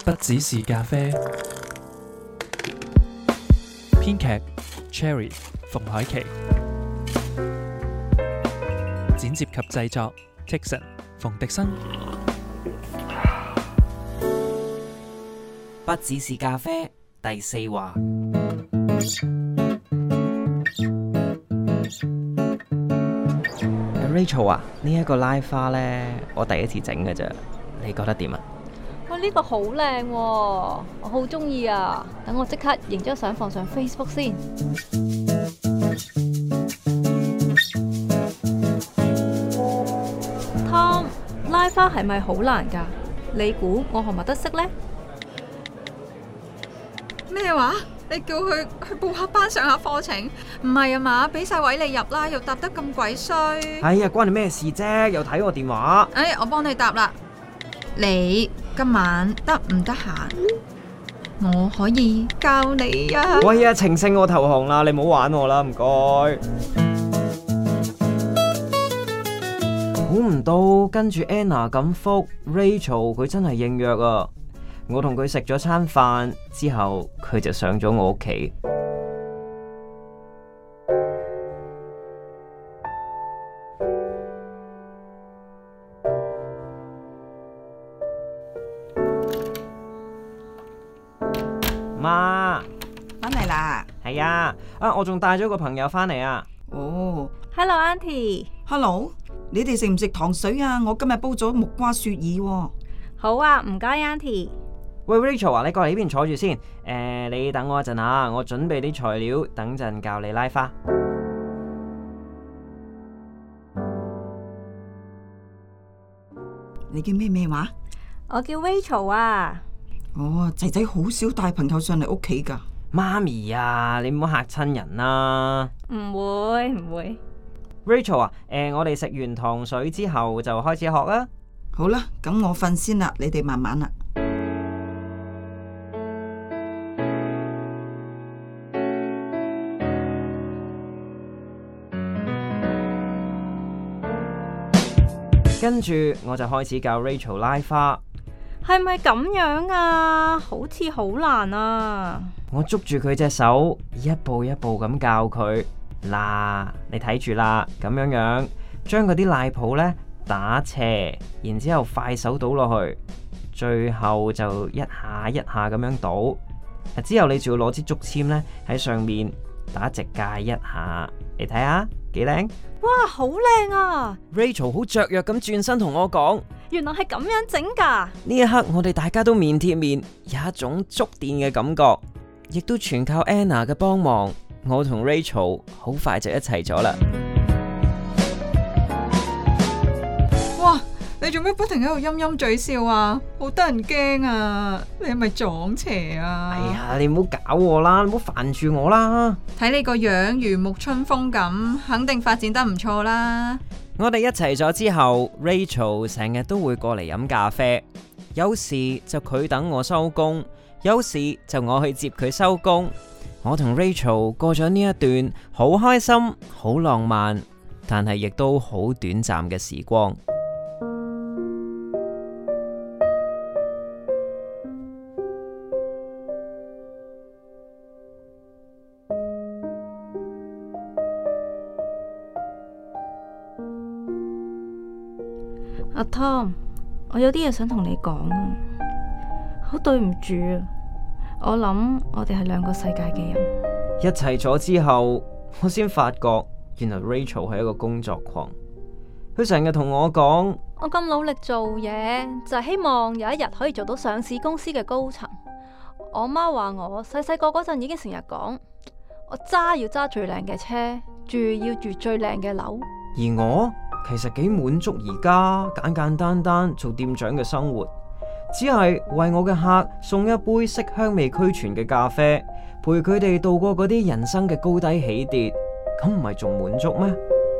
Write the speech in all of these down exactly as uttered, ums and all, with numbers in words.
不只是咖啡。編劇 Cherry 馮海琪，剪接及製作 Tikson 馮迪生。 不只是咖啡第四話。Rachel 啊，呢、這、一個拉花呢，我第一次整嘅咋，你覺得點啊？ 哇，呢個好靚喎，我好中意啊！等我即刻影張相放上 Facebook 先。Tom， 拉花係咪好難㗎？你估我學唔學得識呢？ 咩話？你叫佢去報下班上下課程？唔係啊嘛，俾晒位你入啦，又答得咁鬼衰。 哎呀，關你咩事啫？又睇我電話。 哎，我幫你答啦。你今晚得唔得閒？我可以教你啊。 喂呀，情聖我投降啦，你唔好玩我啦，唔該。估唔到跟住 Anna 咁覆 Rachel， 佢真係應約啊！我同佢食咗餐飯之後，佢就上咗我屋企。媽， 返嚟啦？ 係啊，啊我仲帶咗個朋友返嚟啊。 哦 Hello，Auntie。 Hello， 你哋食唔食糖水啊？我今日煲咗木瓜雪耳喎。 好啊，唔該 Auntie。 喂 Rachel 啊，你過嚟呢邊坐住先。誒、呃，你等我一陣啊，我準備啲材料，等陣教你拉花。 你叫咩咩話？ 我叫 Rachel 啊。 哦，仔仔好少帶朋友上嚟屋企噶。 媽咪啊，你唔好嚇親人啦。 唔會唔會。 Rachel 啊，誒、呃，我哋食完糖水之後就開始學啦。 好啦，咁我瞓先啦，你哋慢慢啦。 跟住我就開始教 Rachel 拉花。 係咪咁樣啊？好似好難啊！ 我捉住佢隻手，一步一步咁教佢。嗱，你睇住啦，咁樣樣，將嗰啲賴泡呢打斜，然之後快手倒落去，最後就一下一下咁樣倒。之後你仲要攞支竹籤呢喺上面打直界一下，你睇下幾靚？ 哇，好靚啊 Rachel 好雀躍咁轉身同我講， 原來係咁樣整噶。 呢一刻我哋大家都面貼面，有一種觸電嘅感覺，亦都全靠 Anna 嘅幫忙，我同 Rachel 好快就一齊咗啦。 哇！你做咩不停喺度陰陰嘴笑啊？好得人驚啊！你係咪撞邪啊？ 哎呀，你唔好搞我啦，你唔好煩住我啦。 睇你個樣如沐春風咁，肯定發展得唔錯啦。 我哋一齊咗之後 Rachel 成日都會過嚟飲咖啡，有時就佢等我收工，有時就我去接佢收工。我同 Rachel 過咗呢一段好開心、好浪漫，但係亦都好短暫嘅時光。 阿 Tom， 我有啲嘢想同你講啊，好對唔住啊，我諗我哋係兩個世界嘅人。 一齊咗之後，我先發覺原來 Rachel 係一個工作狂，佢成日同我講， 我咁努力做嘢，就係希望有一日可以做到上市公司嘅高層。我媽話我細細個嗰陣已經成日講，我揸要揸最靚嘅車，住要住最靚嘅樓。 而我其實幾滿足而家簡簡單單做店長嘅生活，只係為我嘅客送一杯色香味俱全嘅咖啡，陪佢哋度過嗰啲人生嘅高低起跌，咁唔係仲滿足咩？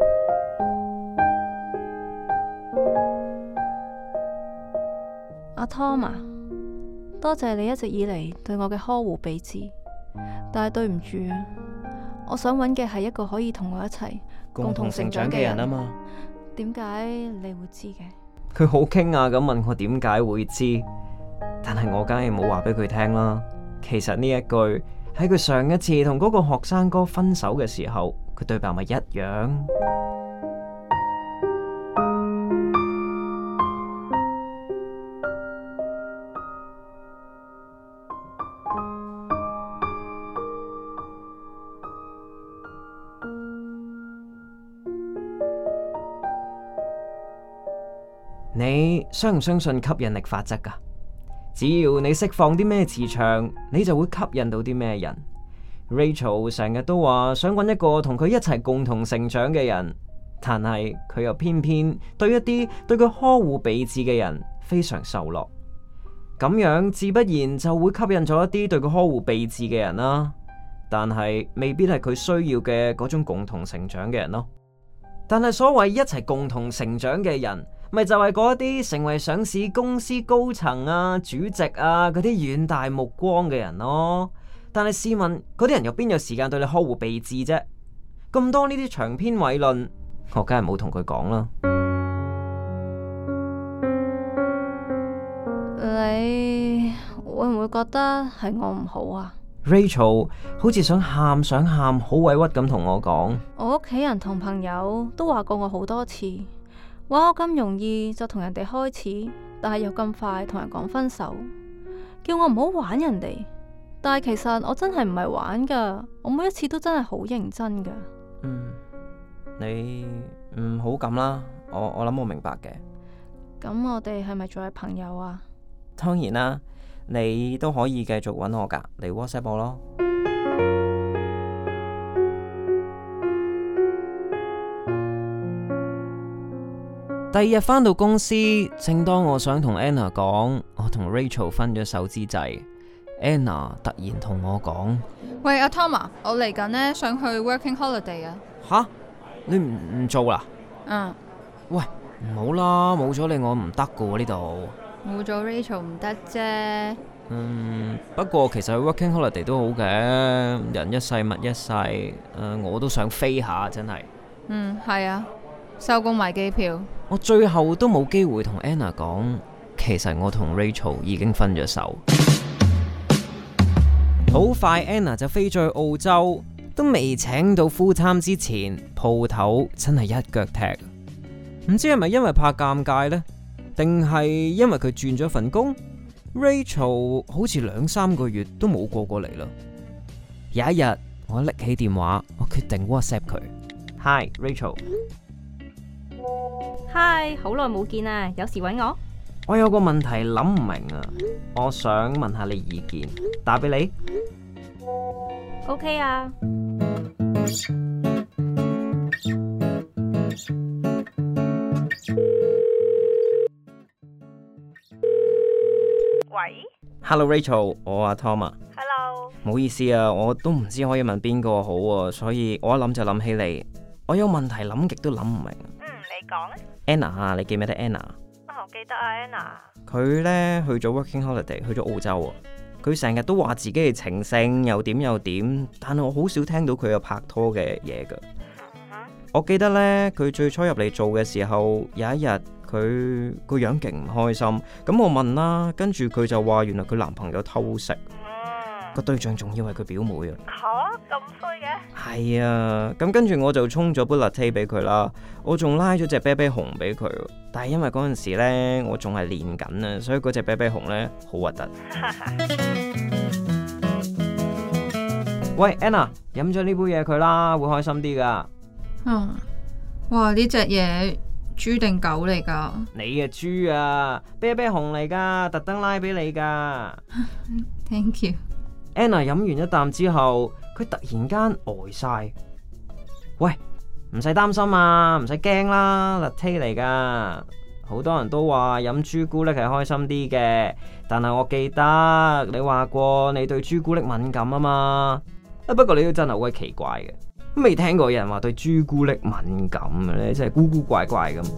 阿 Tom 啊，多謝你一直以嚟對我嘅呵護備至，但係對唔住啊，我想揾嘅係一個可以同我一齊共同成長嘅人啊嘛。點解你會知嘅？ 佢好驚訝咁問我點解會知， 但係我梗係冇話俾佢聽啦。其實呢一句喺佢上一次同嗰個學生哥分手嘅時候，佢對白咪一樣。你相唔相信吸引力法則㗎？只要你釋放啲咩磁場，你就會吸引到啲咩人。Rachel 成日都話想揾一個同佢一齊共同成長嘅人，但係佢又偏偏對一啲對佢呵護備至嘅人非常受落，咁樣自不然就會吸引咗一啲對佢呵護備至嘅人啦。但係未必係佢需要嘅嗰種共同成長嘅人咯。但係所謂一齊共同成長嘅人，咪就係嗰啲成為上市公司高層啊、主席啊嗰啲遠大目光嘅人咯。但係試問，嗰啲人又邊有時間對你呵護備至啫？咁多呢啲長篇偉論，我梗係冇同佢講啦。 你會唔會覺得係我唔好啊？ Rachel 好似想喊想喊，好委屈咁同我講。 我屋企人同朋友都話過我好多次，話我咁容易就同人哋開始，但係又咁快同人講分手，叫我唔好玩人哋。但係其實我真係唔係玩噶，我每一次都真係好認真噶。 嗯，你唔好咁啦，我我諗我明白嘅。 咁我哋係咪仲係朋友啊？ 當然啦，你都可以繼續搵我噶，嚟 WhatsApp 我咯。第二日返到公司，正當我想同 Anna 講我同 Rachel 分咗手之際，Anna 突然同我講： 喂，阿 Tom 啊，我嚟緊呢，想去 working holiday 啊。 吓？你唔唔做啦？ 嗯。 喂，唔好啦，冇咗你我唔得噶喎呢度。 冇咗 Rachel 唔得啫。 嗯，不過其實 working holiday 都好嘅，人一世物一世，誒、呃，我都想飛下，真係。 嗯，係啊，收工買機票。 我最後都冇機會同 Anna 講，其實我同 Rachel 已經分咗手。好快 Anna 就飛咗去澳洲，都未請到 full time 之前，鋪頭真係一腳踢。唔知係咪因為怕尷尬呢？定係因為佢轉咗份工 ？Rachel 好似兩三個月都冇過過嚟啦。有一日，我拎起電話，我決定 WhatsApp 佢。Hi Rachel。Hi， 好耐冇見啊，有事搵我？ 我有個問題諗唔明啊，我想問下你意見，打俾你。 OK 啊。 喂 Hello Rachel， 我阿 Tom 啊。 Hello。 唔好意思啊，我都唔知可以問邊個好啊，所以我一諗就諗起你。我有問題諗極都諗唔明。 嗯，你講啊。 Anna 啊，你記唔記得 Anna？ 我記得啊 Anna。 佢呢去咗 working holiday， 去咗澳洲啊。佢成日都話自己係情聖，又點又點，但係我好少聽到佢有拍拖嘅嘢噶。 嗯、 我記得呢，佢最初入嚟做嘅時候，有一日佢個樣勁唔開心，咁我問啦，跟住佢就話原來佢男朋友偷食， 嗯、 個對象仲要係佢表妹啊。 吓，咁衰嘅？ 係啊，咁跟住我就沖咗杯 latte 俾佢啦，我仲拉咗隻啤啤熊俾佢，但係因為嗰陣時呢我仲係練緊啊，所以嗰隻啤啤熊呢好核突。喂 Anna， 飲咗呢杯嘢佢啦，會開心啲噶。 嗯，哇，呢隻嘢豬定狗嚟噶？ 你嘅豬啊，啤啤熊嚟噶，特登拉俾你噶。 Thank you。 Anna 飲完一啖之後，佢突然間呆晒。喂，唔使擔心啊，唔使驚啦，latte嚟噶。好多人都話飲朱古力係開心啲嘅，但係我記得你話過你對朱古力敏感啊嘛。啊，不過你都真係好鬼奇怪嘅，未聽過有人話對朱古力敏感嘅咧，真係古古怪怪咁。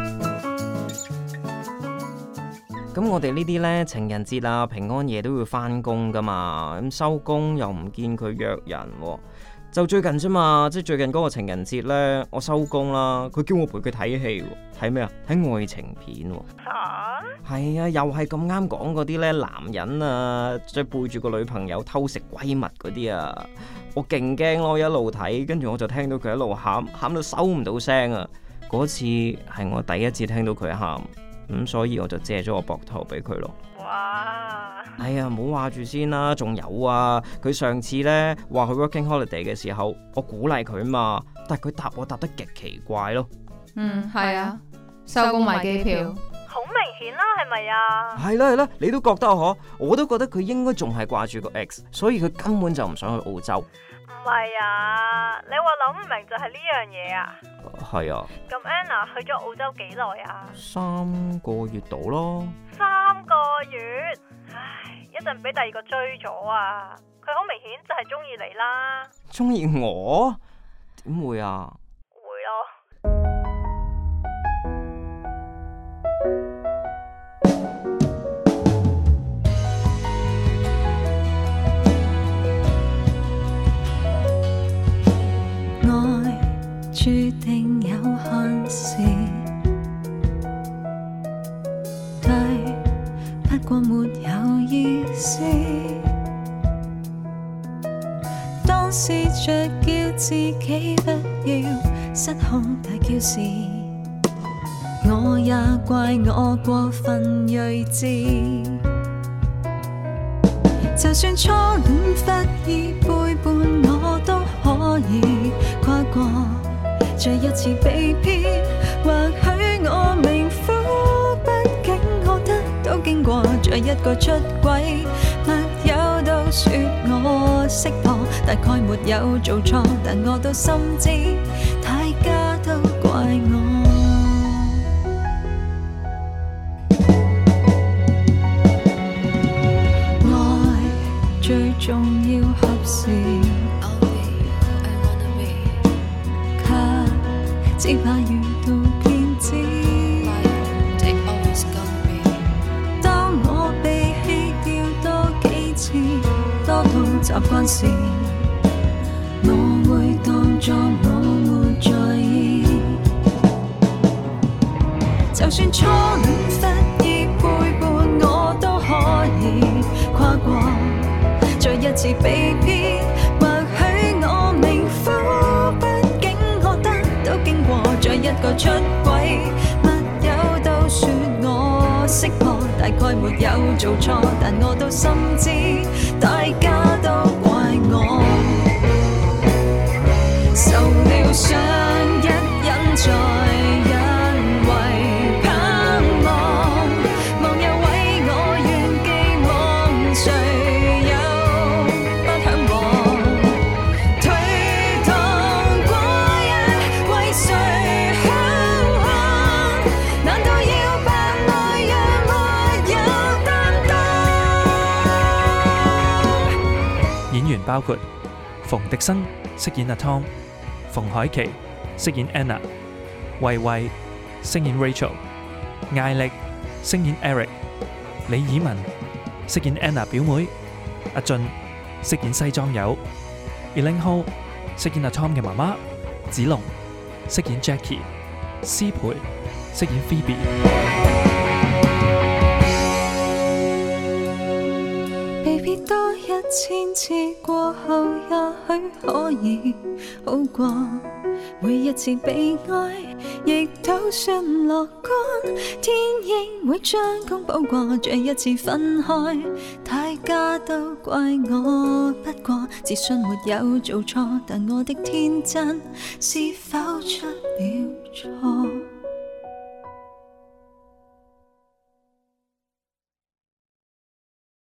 咁我哋呢啲呢，情人節啊、平安夜都要返工噶嘛，咁收工又唔見佢約人喎， 就最近啫嘛，即係最近嗰個情人節呢，我收工啦，佢叫我陪佢睇戲喎，睇咩啊？睇愛情片喎。 吓？ 係啊，又係咁啱講嗰啲呢，男人啊，即係背住個女朋友偷食閨蜜嗰啲啊，我勁驚咯，一路睇，跟住我就聽到佢一路喊，喊到收唔到聲啊！嗰次係我第一次聽到佢喊，咁所以我就借咗個膊頭俾佢咯。 哇！ 哎呀，唔好話住先啦，仲有啊，佢上次呢話去 working holiday 嘅時候，我鼓勵佢嘛，但係佢答我答得極奇怪咯。 嗯，係啊，收工買機票。 好明顯啦，係咪啊？ 係啦係啦，你都覺得嗬？我都覺得佢應該仲係掛住個 ex， 所以佢根本就唔想去澳洲。 唔係啊，你話諗唔明就係呢樣嘢啊？ 係啊。 咁 Anna 去咗澳洲幾耐啊？ 三個月到咯。 三個月？唉，一陣俾第二個追咗啊！佢好明顯就係中意你啦。 中意我？點會啊？ 會咯。 注定有限時，對，不過沒有意思。當試着叫自己不要失控大叫時，我也怪我過分睿智。就算初戀忽已背叛，我都可以跨過。再一次被騙，或許我命苦，畢竟我得到經過。再一個出軌，密友都說我識破，大概沒有做錯，但我都心知，大家都怪我。愛最重要合時。只怕遇到騙子。當我被棄掉多幾次，多到習慣時，我會當作我沒在意。就算初戀忽已背叛，我都可以跨過。再一次被騙，或許我命苦。再一個出軌，密友都說我識破，大概沒有做錯，但我都心知，大家都怪我。受了傷，一忍再因為盼望，忘又為我願寄望，誰又不向往？推搪過一為誰？ 演員包括馮迪生飾演阿 Tom， 馮海琪飾演 Anna， 慧慧飾演 Rachel， 艾力飾演 Eric， 李以文飾演 Anna 表妹，阿俊飾演西裝友 ，Elaine Ho 飾演阿 Tom 嘅媽媽，子龍飾演 Jackie， 施培飾演 Phoebe。 被別多一千次過後，也許可以好過。每一次被愛，亦都算樂觀。天應會將功補過，這一次分開，大家都怪我。不過自信沒有做錯，但我的天真是否出了錯？